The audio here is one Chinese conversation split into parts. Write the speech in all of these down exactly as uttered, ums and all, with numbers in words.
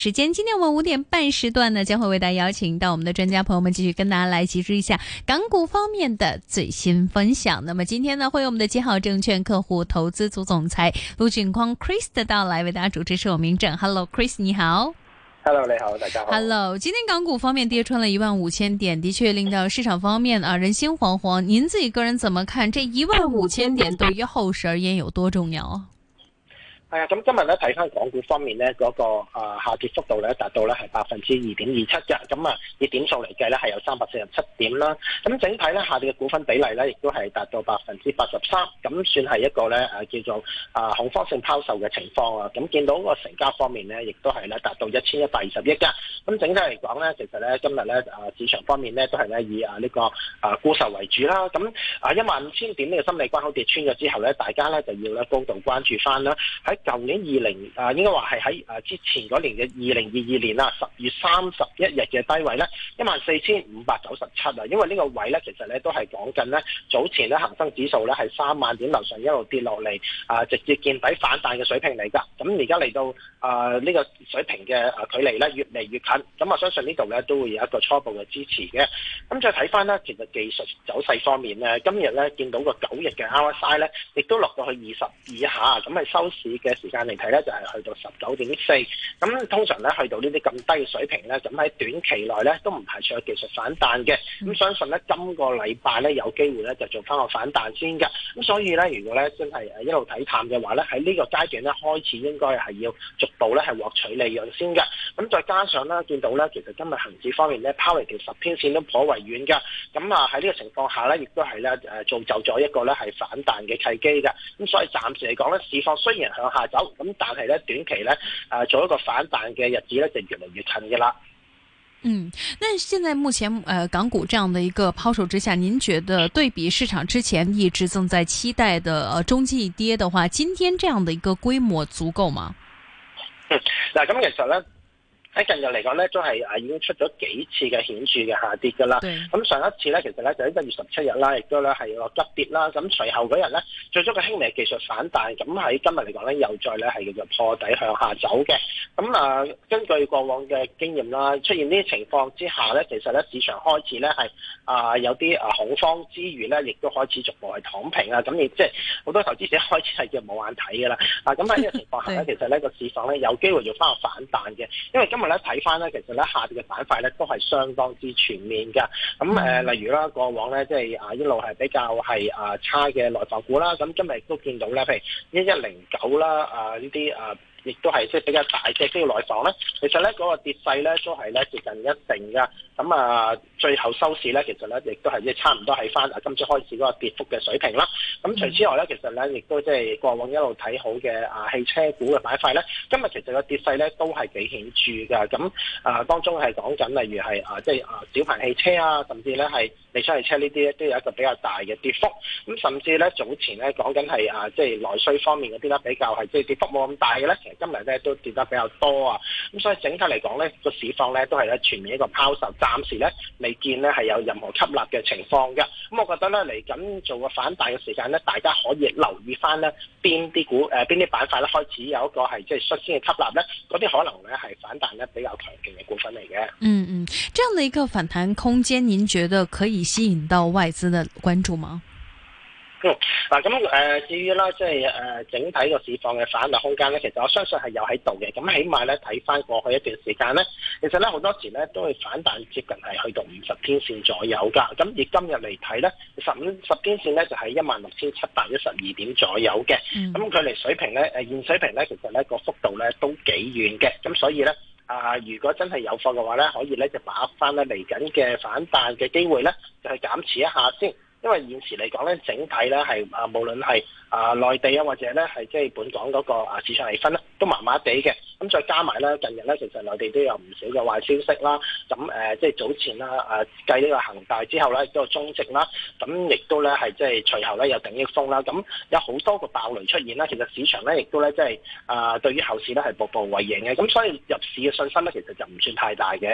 時間今天我們五點半時段呢，將會為大家邀請到我們的專家朋友們繼續跟大家來集知一下港股方面的最新分享。那麼今天呢，會有我們的基好證券客戶投資組總裁盧駿匡 Chris 的到來，為大家主持是我明正。Hello Chris 你好。 Hello 你好，大家好。 Hello， 今天港股方面跌穿了一萬五千點，的確令到市場方面啊人心惶惶。您自己個人怎麼看？這一萬五千點對於後市而言有多重要啊？ 係啊，咁今日咧睇翻港股方面咧，嗰、那個啊、呃、下跌幅度咧達到咧係百分之二點二七嘅，咁啊以點數嚟計咧係有三百四十七點啦。咁整體咧下跌嘅股份比例咧亦都係達到百分之八十三，咁算係一個咧誒、啊、叫做啊恐慌性拋售嘅情況啊。咁見到個成交方面咧，亦都係咧達到一千一百二十億㗎。咁整體嚟講咧，其實咧今日咧啊市場方面咧都係咧以啊呢、這個啊沽售為主啦。咁啊一萬五千點呢個心理關口跌穿咗之後咧，大家咧就要咧高度關注翻啦。喺舊年二零啊，應該話係喺誒之前嗰年嘅二零二二年啦，十月三十一日嘅低位咧，一萬四千五百九十七啊，因為呢個位咧，其實咧都係講緊咧早前咧恒生指數咧係三萬點樓上一路跌落嚟啊，直接見底反彈嘅水平嚟㗎。咁而家嚟到啊呢、這個水平嘅啊距離咧越嚟越近，咁我相信呢度咧都會有一個初步嘅支持嘅。咁再睇翻咧，其實技術走勢方面咧，今日咧見到個九日嘅 R S I 咧，亦都落到去二十以下，咁係收市嘅時間嚟睇咧，就係去到十九點四。咁通常咧去到呢啲咁低嘅水平咧，咁喺短期內咧都唔排除有技術反彈嘅。咁相信咧今個禮拜咧有機會咧就做翻個反彈先㗎。咁所以咧，如果咧真係誒一路睇淡嘅話咧，喺呢個階段咧開始應該係要逐步咧係獲取利潤先㗎。咁再加上咧見到咧，其實今日恒指方面咧拋離條十天線都頗為遠㗎。咁啊喺呢個情況下咧，亦都係咧誒造就咗一個咧係反彈嘅契機㗎。咁所以暫時嚟講咧，市況雖然向下走，咁但係咧短期咧誒、呃、做一個反彈嘅日子咧就越嚟越近嘅啦。 嗯，那現在目前呃港股這樣的一個拋售之下，您覺得對比市場之前一直正在期待的呃中期跌的話，今天這樣的一個規模足夠嗎？ 嗯，嗱咁其實咧。喺近日嚟講咧，都係誒已經出咗幾次嘅顯著嘅下跌㗎啦。咁上一次咧，其實咧就喺一月十七日啦，亦都咧係個急跌啦。咁隨後嗰日咧，做咗個輕微技術反彈。咁喺今日嚟講咧，又再咧係叫做破底向下走嘅。咁啊，根據過往嘅經驗啦，出現呢啲情況之下咧，其實咧市場開始咧係啊有啲啊恐慌之餘咧，亦都開始逐步係躺平啊。咁亦即係好多投資者開始係叫冇眼睇㗎啦。啊，咁喺呢個情況下咧，其實呢個市況咧有機會要翻個反彈嘅，因為今今日咧睇翻咧，其實咧下跌嘅板塊咧都係相當之全面㗎。咁誒、呃，例如啦，過往咧即係啊一路係比較係啊差嘅內房股啦。咁今日亦都見到咧，譬如一一零九啦，啊呢啲啊。亦都係即係比較大隻啲嘅內房咧，其實咧嗰、那個跌勢咧都係咧接近一成㗎。咁啊，最後收市咧，其實咧亦都係即係差唔多喺翻啊今朝開始嗰個跌幅嘅水平啦。咁除此之外咧，其實咧亦都即係過往一路睇好嘅啊汽車股嘅板塊咧，今日其實個跌勢咧都係幾顯著㗎。咁啊當中係講緊例如係啊即係啊小鵬汽車啊，甚至咧係理想汽車呢啲咧都有一個比較大嘅跌幅。咁甚至咧早前咧講緊係啊即係內需方面嗰啲咧比較係即係跌幅冇咁大嘅咧。今日咧都跌得比較多啊，咁所以整體嚟講咧，個市況咧都係咧全面一個拋售，暫時咧未見咧係有任何吸納嘅情況嘅。咁我覺得咧嚟緊做個反彈嘅時間咧，大家可以留意翻咧邊啲股誒邊啲板塊咧開始有一個係即係率先嘅吸納咧，嗰啲可能咧係反彈咧比較強勁嘅股份嚟嘅。 嗯嗯，這樣的一個反彈空間，您覺得可以吸引到外資的關注嗎？ 嗯，嗱咁誒，至於啦，即係誒整體個市況嘅反彈空間咧，其實我相信係有喺度嘅。咁起碼咧睇翻過去一段時間咧，其實咧好多時咧都會反彈接近係去到五十天線左右㗎。咁而今日嚟睇咧，十五十天線咧就係一萬六千七百一十二點左右嘅。咁距離水平咧誒現水平咧，其實咧個幅度咧都幾遠嘅。咁所以咧啊、呃，如果真係有貨嘅話咧，可以咧就把握翻咧嚟緊嘅反彈嘅機會咧，就係減持一下先。因為現時嚟講咧，整體咧係啊，無論係啊內地啊，或者咧係即係本港嗰個啊市場氣氛咧，都麻麻地嘅。咁再加埋咧，近日咧其實內地都有唔少嘅壞消息啦。咁誒，即係早前啦，誒繼呢個恒大之後咧，亦都有中植啦。咁亦都咧係即係隨後咧有鼎益豐啦。咁有好多個爆雷出現啦。其實市場咧亦都咧即係啊，對於後市咧係步步為營嘅。咁所以入市嘅信心咧，其實就唔算太大嘅。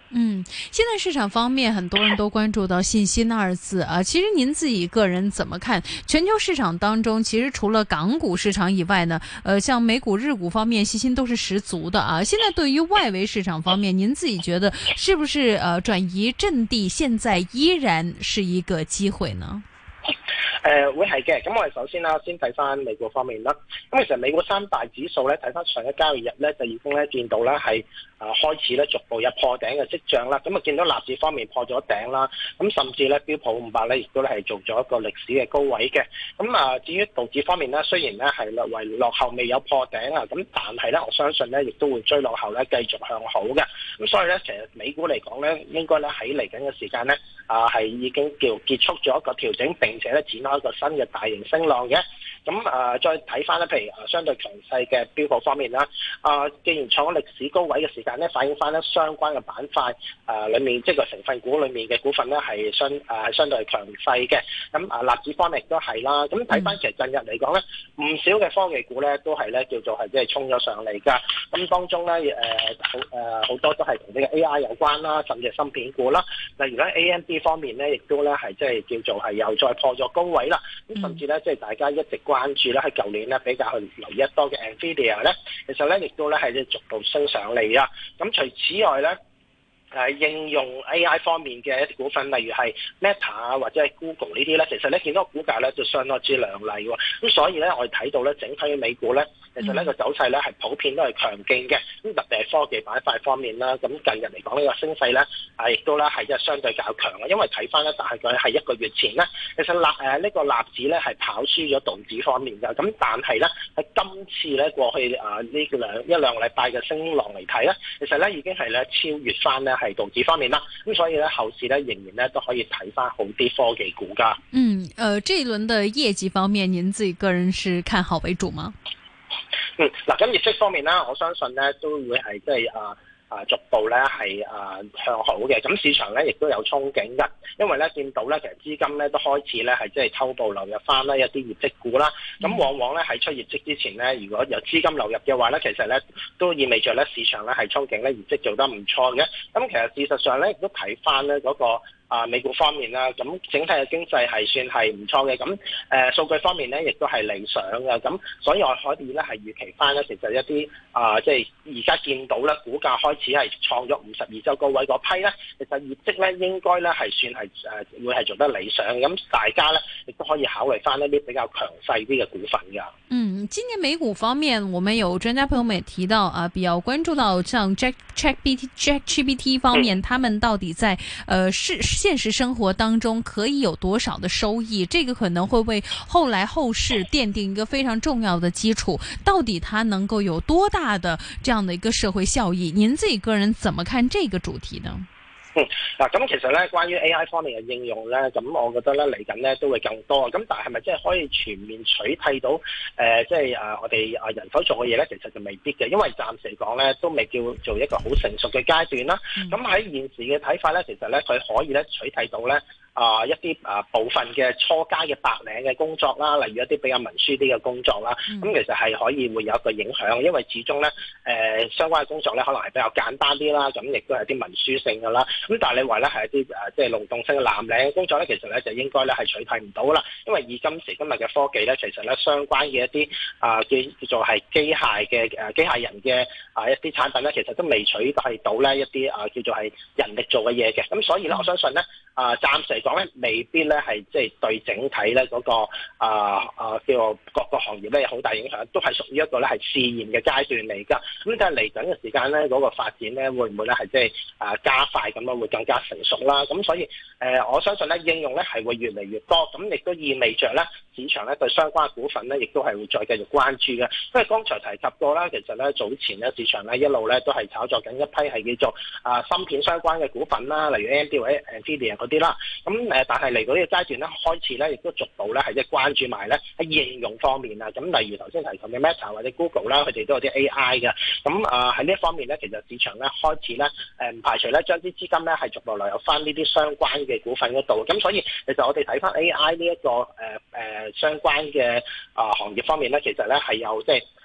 嗯，現在市場方面，很多人都關注到信心二字啊。其實您自己個人怎麼看？全球市場當中，其實除了港股市場以外呢，呃，像美股、日股方面，信心都是十足的啊。現在對於外圍市場方面，您自己覺得是不是呃轉移陣地，現在依然是一個機會呢？ 誒、呃、會係嘅，咁我哋首先啦，先睇翻美國方面啦。咁其實美國三大指數咧，睇翻上一交易日咧，就已經咧見到咧係啊開始咧逐步有破頂嘅跡象啦。咁啊見到納指方面破咗頂啦，咁甚至咧標普五百咧亦都咧係做咗一個歷史嘅高位嘅。咁啊至於道指方面咧，雖然咧係略為落後未有破頂啊，咁但係咧我相信咧亦都會追落後咧繼續向好嘅。咁所以咧其實美股嚟講咧，應該咧喺嚟緊嘅時間咧啊係已經叫結束咗一個調整，並且咧展開一個新嘅大型升浪嘅。咁啊再睇翻咧，譬如啊相對強勢嘅標普方面啦，啊既然創咗歷史高位嘅時間咧，反映翻咧相關嘅板塊啊裏面即係個成分股裏面嘅股份咧係相啊係相對係強勢嘅。咁啊納指方面亦都係啦。咁睇翻其實近日嚟講咧，唔少嘅科技股咧都係咧叫做係即係衝咗上嚟㗎。咁當中咧誒好誒好多都係同呢個 A I 有關啦，甚至係芯片股啦。例如咧 A M D 方面咧，亦都咧係即係叫做係又再破咗高位啦。咁甚至咧即係大家一直關注咧喺舊年咧比較去留意一多嘅 Nvidia 咧，其實咧亦都咧係逐步升上嚟啊。咁除此外咧，誒、啊、應用 A I 方面嘅一啲股份，例如係 Meta 啊或者係 Google 呢啲咧，其實咧見到個股價咧就相當之亮麗喎。咁所以咧我哋睇到咧整體嘅美股咧，其實呢個走勢咧係普遍都係強勁嘅。咁特別係科技板塊方面啦，咁近日嚟講呢個升勢咧啊亦都咧係即係相對較強嘅。因為睇翻咧大概係一個月前咧，其實納誒呢個納指咧係跑輸咗道指方面嘅。咁但係咧喺今次咧過去啊呢兩一兩個禮拜嘅升浪嚟睇咧，其實咧已經係咧超越翻咧係道指方面啦。咁所以咧後市咧仍然咧都可以睇翻好啲科技股㗎。 嗯，誒、呃，這一輪嘅業績方面，您自己個人是看好為主嗎？ 嗯，嗱，咁業績方面啦，我相信咧都會係即係啊啊逐步咧係啊向好嘅。咁市場咧亦都有憧憬㗎，因為咧見到咧其實資金咧都開始咧係即係偷步流入翻啦一啲業績股啦。咁往往咧喺出業績之前咧，如果有資金流入嘅話咧，其實咧都意味着咧市場咧係憧憬咧業績做得唔錯嘅。咁其實事實上咧亦都睇翻咧嗰個啊，美股方面啦，咁整體嘅經濟係算係唔錯嘅，咁誒數據方面咧，亦都係理想嘅，咁所以我可以咧係預期翻咧，其實一啲啊，即係而家見到咧，股價開始係創咗五十二週高位嗰批咧，其實業績咧應該咧係算係誒會係做得理想，咁大家咧亦都可以考慮翻一啲比較強勢啲嘅股份㗎。 嗯，今年美股方面，我們有專家朋友們也提到啊，比較關注到像 Jack ChatGPT ChatGPT 方面，嗯、他們到底在呃是現實生活當中可以有多少的收益？這個可能會為後來後市奠定一個非常重要的基礎。到底它能夠有多大的這樣的一個社會效益？您自己個人怎麼看這個主題呢？ 嗯，嗱，咁其實咧，關於 A I 方面嘅應用咧，咁我覺得咧嚟緊咧都會更多。咁但係咪即係可以全面取替到誒，即係啊我哋啊人手做嘅嘢咧？其實就未必嘅，因為暫時嚟講咧都未叫做一個好成熟嘅階段啦。咁喺、嗯、現時嘅睇法咧，其實咧佢可以咧取替到咧。啊、呃、一啲啊、呃、部分嘅初階嘅白領嘅工作啦，例如一啲比較文書啲嘅工作啦，咁、嗯、其實係可以會有一個影響，因為始終咧誒、呃、相關嘅工作咧可能係比較簡單啲啦，咁亦都係啲文書性㗎啦。咁但係你話咧係一啲誒即係勞動性嘅藍領嘅工作咧，其實咧就應該咧係取替唔到啦，因為以今時今日嘅科技咧，其實咧相關嘅一啲啊叫叫做係機械嘅誒機械人嘅啊一啲產品咧，其實都未取替到咧一啲啊叫做係人力做嘅嘢嘅。咁所以咧，我相信咧啊暫時嚟講咧，未必咧係即係對整體咧嗰個啊啊叫做各個行業咧有好大影響，都係屬於一個咧係試驗嘅階段嚟㗎。咁但係嚟緊嘅時間咧，嗰個發展咧會唔會咧係即係啊加快咁樣會更加成熟啦？咁所以誒，我相信咧應用咧係會越嚟越多，咁亦都意味着咧市場咧對相關嘅股份咧亦都係會再繼續關注嘅。因為剛才提及過啦，其實咧早前咧市場咧一路咧都係炒作緊一批係叫做啊芯片相關嘅股份啦，例如 A M D 或者 Nvidia 嗰啲啦。咁誒，但係嚟到呢個階段咧，開始咧亦都逐步咧係即係關注埋咧喺應用方面啊。咁例如頭先提及嘅 Meta 或者 Google 啦，佢哋都有啲 A I 嘅。咁啊喺呢一方面咧，其實市場咧開始咧誒唔排除咧將啲資金咧係逐步流入翻呢啲相關嘅股份嗰度。咁所以其實我哋睇翻 A I 呢、這、一個誒誒、呃呃、相關嘅啊、呃、行業方面咧，其實咧係有即係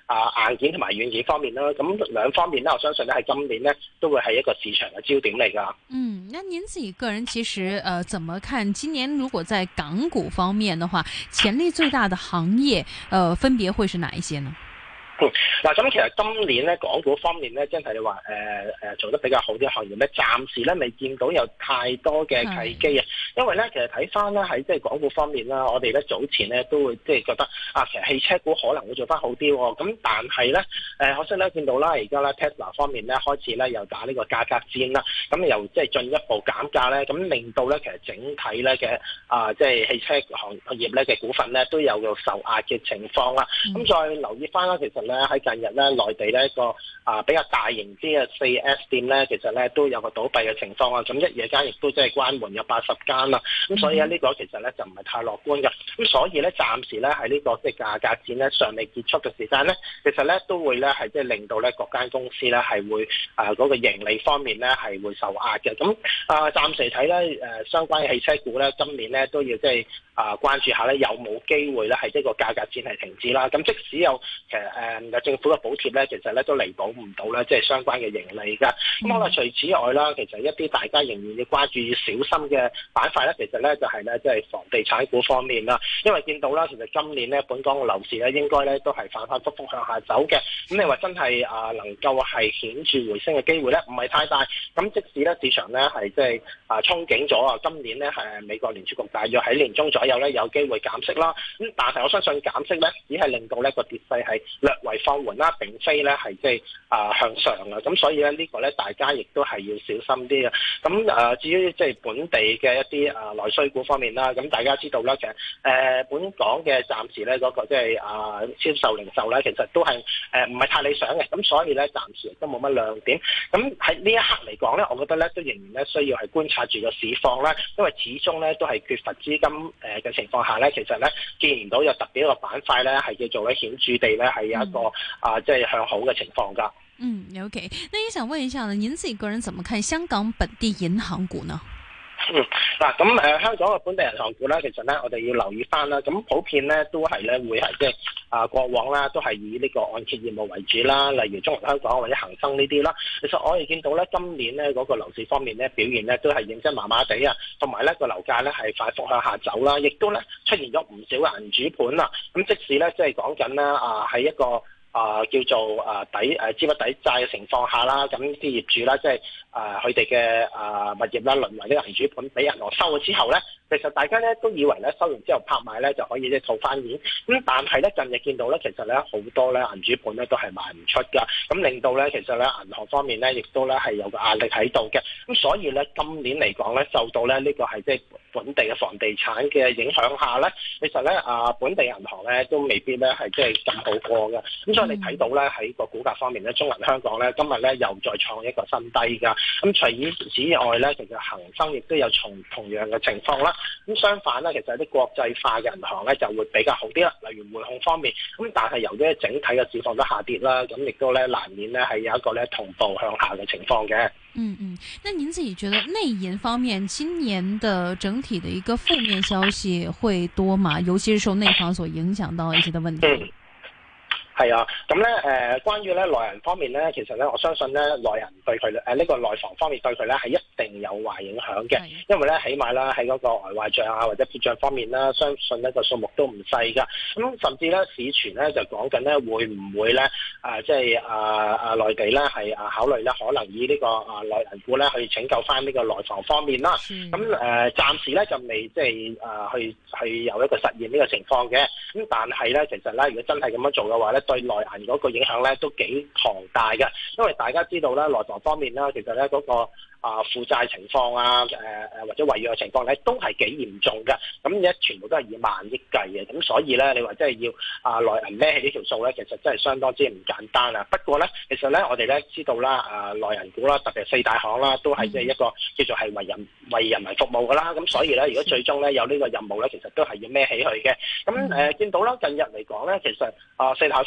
啊硬件同埋軟件方面啦。咁兩方面咧，我相信咧喺今年咧都會係一個市場嘅焦點嚟㗎。 嗯，那您自己個人其實呃怎麼看今年如果在港股方面的話，潛力最大的行業呃分別會是哪一些呢？ 嗯，嗱，咁其實今年咧，港股方面咧，真係你話誒誒做得比較好啲行業咧，暫時咧未見到有太多嘅契機啊。因為咧，其實睇翻咧喺即係港股方面啦，我哋咧早前咧都會即係覺得啊，其實汽車股可能會做翻好啲喎。咁但係咧誒，可惜咧見到啦，而家咧 Tesla 方面咧開始咧又打呢個價格戰啦，咁又即係進一步減價咧，咁令到咧其實整體咧嘅啊即係汽車行業咧嘅股份咧都有個受壓嘅情況啦。咁、嗯、再留意翻啦，其實咧喺近日咧，內地咧一個啊比較大型啲嘅四 S 店咧，其實咧都有個倒閉嘅情況啊。咁一夜間亦都即係關門有八十間啦。咁所以咧呢個其實咧就唔係太樂觀嘅。咁所以咧暫時咧喺呢個即係價格戰咧尚未結束嘅時間咧，其實咧都會咧係即係令到咧各間公司咧係會啊嗰個盈利方面咧係會受壓嘅。咁啊暫時睇咧誒相關嘅汽車股咧今年咧都要即係啊關注下咧有冇機會咧係即係個價格戰係停止啦。咁即使有其實誒有政府嘅補貼咧，其實咧都彌補唔到咧，即係相關嘅盈利㗎。咁可能除此外啦，其實一啲大家仍然要關注、要小心嘅板塊咧，其實咧就係咧即係房地產股方面啦。因為見到啦，其實今年咧本港嘅樓市咧應該咧都係反反覆覆向下走嘅。咁你話真係啊能夠係顯著回升嘅機會咧，唔係太大。咁即使咧市場咧係即係啊憧憬咗啊，今年咧係美國聯儲局大約喺年中左右咧有機會減息啦。咁但係我相信減息咧只係令到呢個跌勢係略為放緩啦，並非咧係即係啊向上啊，咁所以咧呢個咧大家亦都係要小心啲嘅。咁啊至於即係本地嘅一啲啊內需股方面啦，咁大家知道啦，其實誒本港嘅暫時咧嗰個即係啊銷售零售咧，其實都係誒唔係太理想嘅，咁所以咧暫時亦都冇乜亮點。咁喺呢一刻嚟講咧，我覺得咧都仍然咧需要係觀察住個市況啦，因為始終咧都係缺乏資金誒嘅情況下咧，其實咧見唔到有特別一個板塊咧係叫做咧顯著地咧係有一個、嗯、啊即係向好嘅情況㗎。 嗯 ，OK， 那也想問一下呢，您自己個人怎麼看香港本地銀行股呢？ 嗯，嗱咁誒香港嘅本地銀行股咧，其實咧我哋要留意翻啦。咁普遍咧都係咧會係即係啊過往啦，都係以呢個按揭業務為主啦，例如中銀香港或者恒生呢啲啦。其實我哋見到咧今年咧嗰個樓市方面咧表現咧都係認真麻麻地啊，同埋咧個樓價咧係快速向下走啦，亦都咧出現咗唔少嘅銀主盤啦。咁即使咧即係講緊咧啊喺一個啊、呃，叫做啊抵誒資不抵債嘅情況下啦，咁啲業主啦，即係啊佢哋嘅啊物業啦，淪為呢個銀主盤俾銀行收咗之後咧，其實大家咧都以為咧收完之後拍賣咧就可以即係套翻現，咁但係咧近日見到咧，其實咧好多咧銀主盤咧都係賣唔出㗎，咁令到咧其實咧銀行方面咧亦都咧係有個壓力喺度嘅，咁所以咧今年嚟講咧受到咧呢個係即係本地嘅房地產嘅影響下咧，其實咧啊本地銀行咧都未必咧係即係咁好過嘅，咁所以你睇到咧喺個股價方面咧，中銀香港咧今日咧又再創一個新低㗎。咁除此之外咧，其實恒生亦都有同同樣嘅情況啦。咁相反咧，其實啲國際化嘅銀行咧就會比較好啲啦。例如匯控方面，咁但係由於整體嘅市況都下跌啦，咁亦都咧難免咧係有一個咧同步向下嘅情況嘅。 嗯嗯，那您自己覺得內銀方面今年的整體的一個負面消息會多嗎？尤其是受內房所影響到一些的問題。嗯係啊，咁咧誒，關於咧內銀方面咧，其實咧我相信咧內銀對佢誒呢個內房方面對佢咧係一定有壞影響嘅，因為咧起碼啦喺嗰個呆壞賬啊或者撇賬方面啦，相信呢個數目都唔細㗎。咁甚至咧市傳咧就講緊咧會唔會咧啊即係啊啊內地咧係啊考慮咧可能以呢個啊內銀股咧去拯救翻呢個內房方面啦。咁誒、呃、暫時咧就未即係啊去去有一個實現呢個情況嘅。咁但係咧其實咧如果真係咁樣做嘅話咧，對內銀嗰個影響咧都幾龐大嘅，因為大家知道咧內房方面啦，其實咧嗰個啊負債情況啊，誒誒或者違約嘅情況咧都係幾嚴重嘅，咁而家全部都係以萬億計嘅，咁所以咧你話真係要啊內銀孭起呢條數咧，其實真係相當之唔簡單啊。不過咧，其實咧我哋咧知道啦，啊內銀股啦，特別係四大行啦，都係即係一個叫做係為人為人民服務㗎啦，咁所以咧如果最終咧有呢個任務咧，其實都係要孭起佢嘅。咁誒、呃、見到啦，近日嚟講咧，其實啊四大方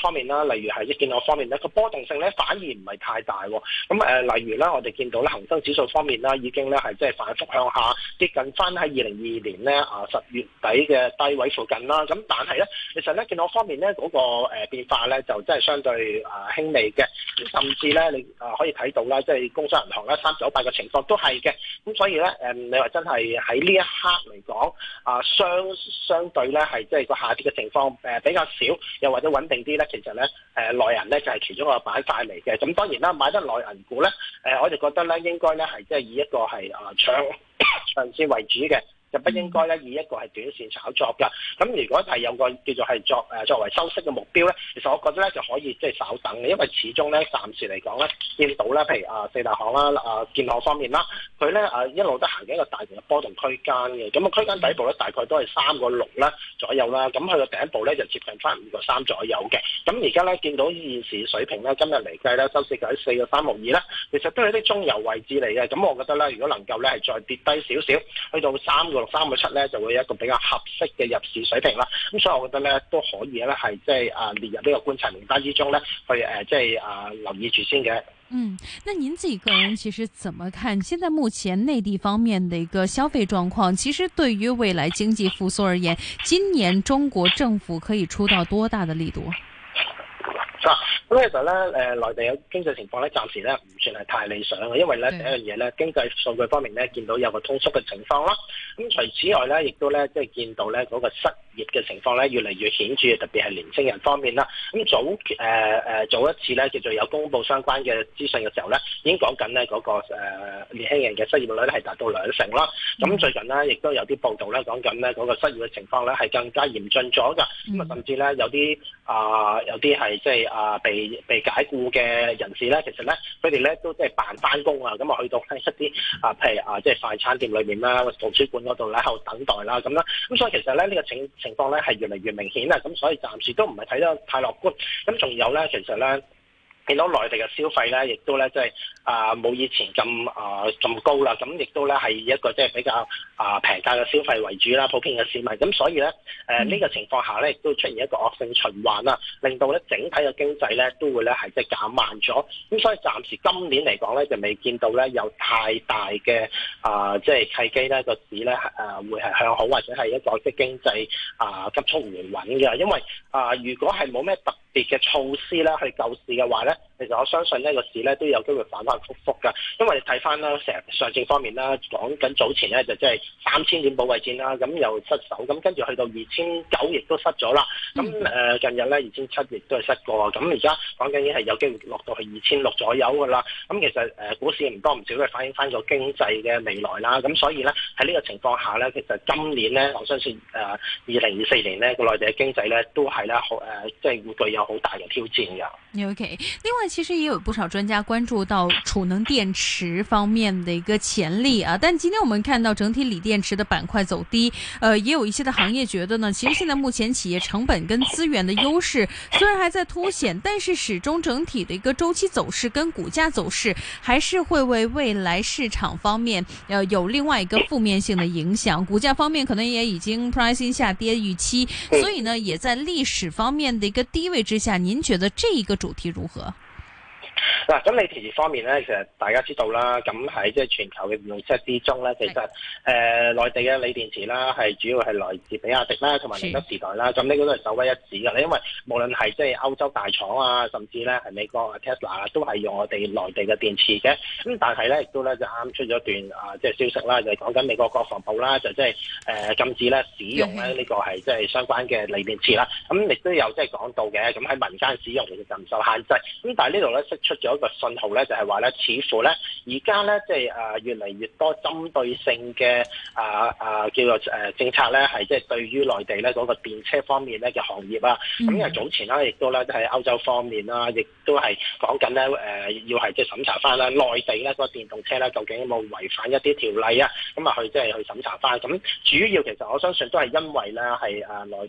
方面啦，例如係一建行方面咧，個波動性咧反而唔係太大喎。咁誒、呃，例如咧，我哋見到咧恒生指數方面啦，已經咧係即係反覆向下接近翻喺二零二二年咧啊十月底嘅低位附近啦。咁但係咧，其實咧建行方面咧嗰、那個誒、呃、變化咧就真係相對啊、呃、輕微嘅，甚至咧你啊、呃、可以睇到啦，即係工商銀行咧三九八嘅情況都係嘅。咁所以咧誒、呃，你話真係喺呢一刻嚟講啊，相相對咧係即係個下跌嘅情況誒、呃、比較少，又或者穩定啲咧，其實咧誒內銀咧就係、是、其中一個板塊嚟嘅。咁當然啦，買得內銀股咧誒、呃，我哋覺得咧應該咧係即係以一個係啊長長線為主嘅。就不應該咧以一個係短線炒作㗎。咁如果係有個叫做係作誒作為收息嘅目標咧，其實我覺得咧就可以即係稍等嘅，因為始終咧暫時嚟講咧見到咧，譬如啊四大行啦、啊建行方面啦，佢咧啊一路都行緊一個大型嘅波動區間嘅。咁個區間底部咧大概都係三個六啦左右啦。咁佢個頂部咧就接近翻五個三左右嘅。咁而家咧見到現時水平咧，今日嚟計咧收市價喺四個三毫二啦，其實都係啲中游位置嚟嘅。咁我覺得咧，如果能夠咧係再跌低少少，去到三個六、三個七咧，就會有一個比較合適嘅入市水平啦。咁所以我覺得咧都可以咧係即係啊列入呢個觀察名單之中咧，去誒即係啊留意住先嘅。 嗯，那您自己個人其實怎麼看？現在目前內地方面的一個消費狀況，其實對於未來經濟復甦而言，今年中國政府可以出到多大的力度？ 嗱，咁其實咧，誒、呃、內地嘅經濟情況咧，暫時咧唔算係太理想嘅，因為咧第一樣嘢咧，經濟數據方面咧，見到有個通縮嘅情況啦。咁除此外咧，亦都咧即係見到咧嗰個失業嘅情況咧越嚟越顯著，特別係年輕人方面啦。咁早誒誒、呃、早一次咧叫做有公佈相關嘅資訊嘅時候咧，已經講緊咧嗰個、呃、年輕人嘅失業率咧係達到兩成啦。咁最近咧亦都有啲報道咧講緊咧嗰個失業嘅情況咧係更加嚴峻咗㗎。咁啊甚至咧有啲啊、呃、有啲係即係啊被被解僱嘅人士咧，其實咧佢哋咧都即係扮翻工啊，咁啊去到一啲啊譬如啊即係快餐店裏面啦、圖書館嗰度咧喺度等待啦咁啦。咁所以其實咧呢、這個情情況咧係越嚟越明顯啊，咁所以暫時都唔係睇得太樂觀。咁仲有咧，其實咧見到內地嘅消費咧，亦都咧即係啊冇以前咁啊咁高啦，咁亦都咧係以一個即係比較啊平價嘅消費為主啦，普遍嘅市民。咁所以咧誒呢個情況下咧，亦都出現一個惡性循環啦，令到咧整體嘅經濟咧都會咧係即係減慢咗。咁所以暫時今年嚟講咧，就未見到咧有太大嘅啊即係契機咧個市咧誒會係向好，或者係一個即係經濟啊急速回穩嘅。因為啊如果係冇咩特別嘅措施咧去救市嘅話咧，其實我相信呢個市咧都有機會反反覆覆㗎。因為你睇翻啦，成上證方面啦，講緊早前咧就即係三千點保衛戰啦，咁又失守，咁跟住去到二千九亦都失咗啦。咁誒近日咧二千七亦都係失過，咁而家講緊已經係有機會落到去二千六左右㗎啦。咁其實誒股市唔多唔少都係反映翻個經濟嘅未來啦。咁所以咧喺呢個情況下咧，其實今年咧我相信誒二零二四年咧個內地嘅經濟咧都係咧好誒，即係會具有好大嘅挑戰㗎。 OK，另外其實也有不少專家關注到儲能電池方面的一個潛力啊，但今天我們看到整體鋰電池的板塊走低，呃，也有一些的行業覺得呢，其實現在目前企業成本跟資源的優勢雖然還在凸顯，但是始終整體的一個週期走勢跟股價走勢還是會為未來市場方面，呃，有另外一個負面性的影響，股價方面可能也已經 pricing 下跌預期，所以呢，也在歷史方面的一個低位之下，您覺得這一個主題如何？ 嗱，咁鋰電池方面咧，其實大家知道啦，咁喺即係全球嘅電動車之中咧，其實誒、呃、內地嘅鋰電池啦，係主要係來自比亞迪啦，同埋寧德時代啦，咁呢個都係首屈一指嘅。因為無論係即係歐洲大廠啊，甚至咧係美國 Tesla 都係用我哋內地嘅電池嘅。咁但係咧，亦都咧就啱出咗段啊，即係消息啦，就係講緊美國國防部啦，就即係誒禁止咧使用咧呢個係即係相關嘅鋰電池啦。咁亦都有即係講到嘅，咁喺民間使用其實就唔受限制。咁但係呢度咧釋出咗一個信號咧，就係話咧，似乎咧而家咧即係誒越嚟越多針對性嘅啊啊叫做誒政策咧，係即係對於內地咧嗰個電車方面咧嘅行業啊。咁因為早前啦，亦都咧喺歐洲方面啦，亦都係講緊咧誒要係即係審查翻啦，內地咧個電動車咧究竟有冇違反一啲條例啊？咁啊去即係去審查翻。咁主要其實我相信都係因為咧係誒內地嘅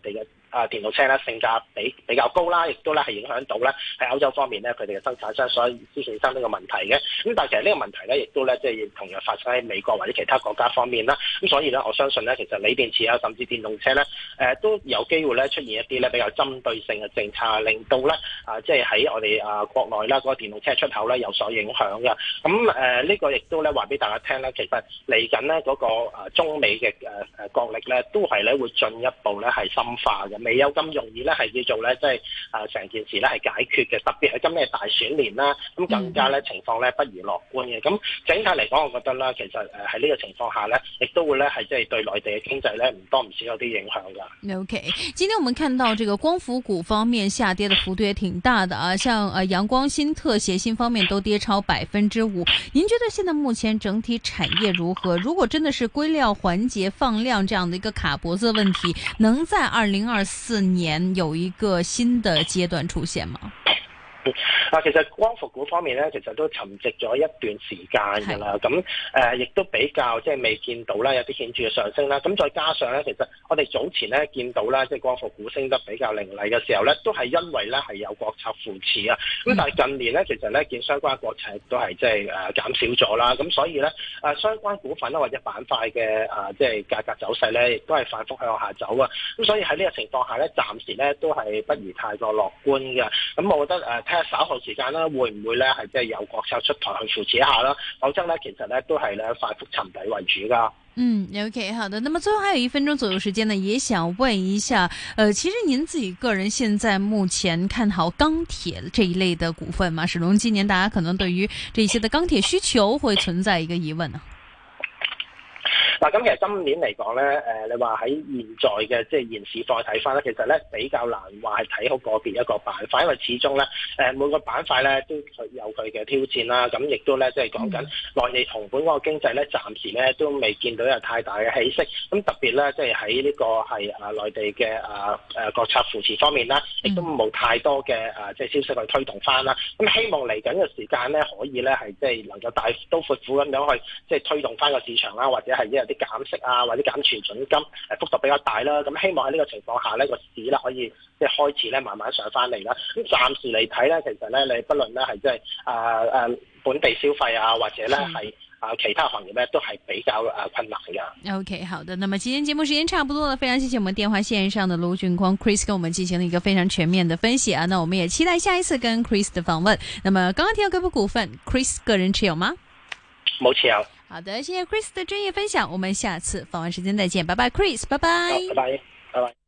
啊電動車咧性價比比較高啦，亦都咧係影響到咧喺歐洲方面咧佢哋嘅生產商，所以先產生呢個問題嘅。咁但係其實呢個問題咧，亦都咧即係同樣發生喺美國或者其他國家方面啦。咁所以咧，我相信咧，其實鋰電池啊，甚至電動車咧，誒、呃、都有機會咧出現一啲咧比較針對性嘅政策，令到咧啊即係喺我哋啊國內啦嗰個電動車出口咧有所影響嘅。咁誒呢個亦都咧話俾大家聽咧，其實嚟緊咧嗰個啊中美嘅誒誒角力咧，都係咧會進一步咧係深化嘅，未有咁容易咧係叫做咧即係啊成件事咧係解決嘅。特別係今年係大選年啦，咁更加咧情況咧不如樂觀嘅。咁整體嚟講，我覺得啦，其實誒喺呢個情況下咧，亦都會咧係即係對內地嘅經濟咧唔多唔少有啲影響㗎。 OK， 今天我們看到這個光伏股方面下跌的幅度也挺大的啊，像呃陽光新特、協鑫方面都跌超百分之五。您覺得現在目前整體產業如何？如果真的是硅料環節放量這樣的一個卡脖子問題，能在二零二四年有一個新的階段出現嗎？ 啊，其實光伏股方面咧，其實都沉寂咗一段時間㗎啦。咁誒，亦、呃、都比較即係未見到啦，有啲顯著嘅上升啦。咁再加上咧，其實我哋早前咧見到啦，即係光伏股升得比較凌厲嘅時候咧，都係因為咧係有國策扶持啊。咁但係近年咧，其實咧見相關國策都係即係誒減少咗啦。咁所以咧誒、呃、相關股份啦或者板塊嘅誒即係價格走勢咧，亦都係反覆向下走啊。咁所以喺呢個情況下咧，暫時咧都係不如太過樂觀嘅。咁我覺得誒睇下稍後時間啦，會唔會咧係即係有國策出台去扶持一下啦？否則咧，其實咧都係咧反覆沉底為主噶。 嗯 ，OK， 好的。那麼最後還有一分鐘左右時間呢，也想問一下，呃，其實您自己個人現在目前看好鋼鐵這一類的股份嗎？始終今年大家可能對於這些的鋼鐵需求會存在一個疑問呢。 嗱，咁其實今年嚟講咧，誒，你話喺現在嘅即係現市況睇翻咧，其實咧比較難話係睇好個別一個板塊，因為始終咧誒每個板塊咧都有佢嘅挑戰啦。咁亦都咧即係講緊內地同本嗰個經濟咧，暫時咧都未見到有太大嘅起色。咁特別咧即係喺呢個係啊內地嘅啊誒國策扶持方面啦，亦都冇太多嘅啊即係消息去推動翻啦。咁希望嚟緊嘅時間咧，可以咧係即係能夠大刀闊斧咁樣去即係推動翻個市場啦，或者係一啲減息啊，或者減存準金，誒幅度比較大啦。咁希望喺呢個情況下呢個市咧可以即係開始咧慢慢上翻嚟啦。咁暫時嚟睇咧，其實咧你不論咧係即係誒誒本地消費啊，或者咧係啊其他行業咧，都係比較誒困難嘅。 OK， 好的。那麼今天節目時間差不多了，非常謝謝我們電話線上的盧駿匡 Chris 跟我們進行了一個非常全面的分析啊。那我們也期待下一次跟 Chris 的訪問。那麼剛剛提到這部股份 ，Chris 個人持有嗎？ 冇持有。 好的，謝謝 Chris 的專業分享，我們下次訪問時間再見，拜拜 Chris，拜拜， 拜拜，拜拜。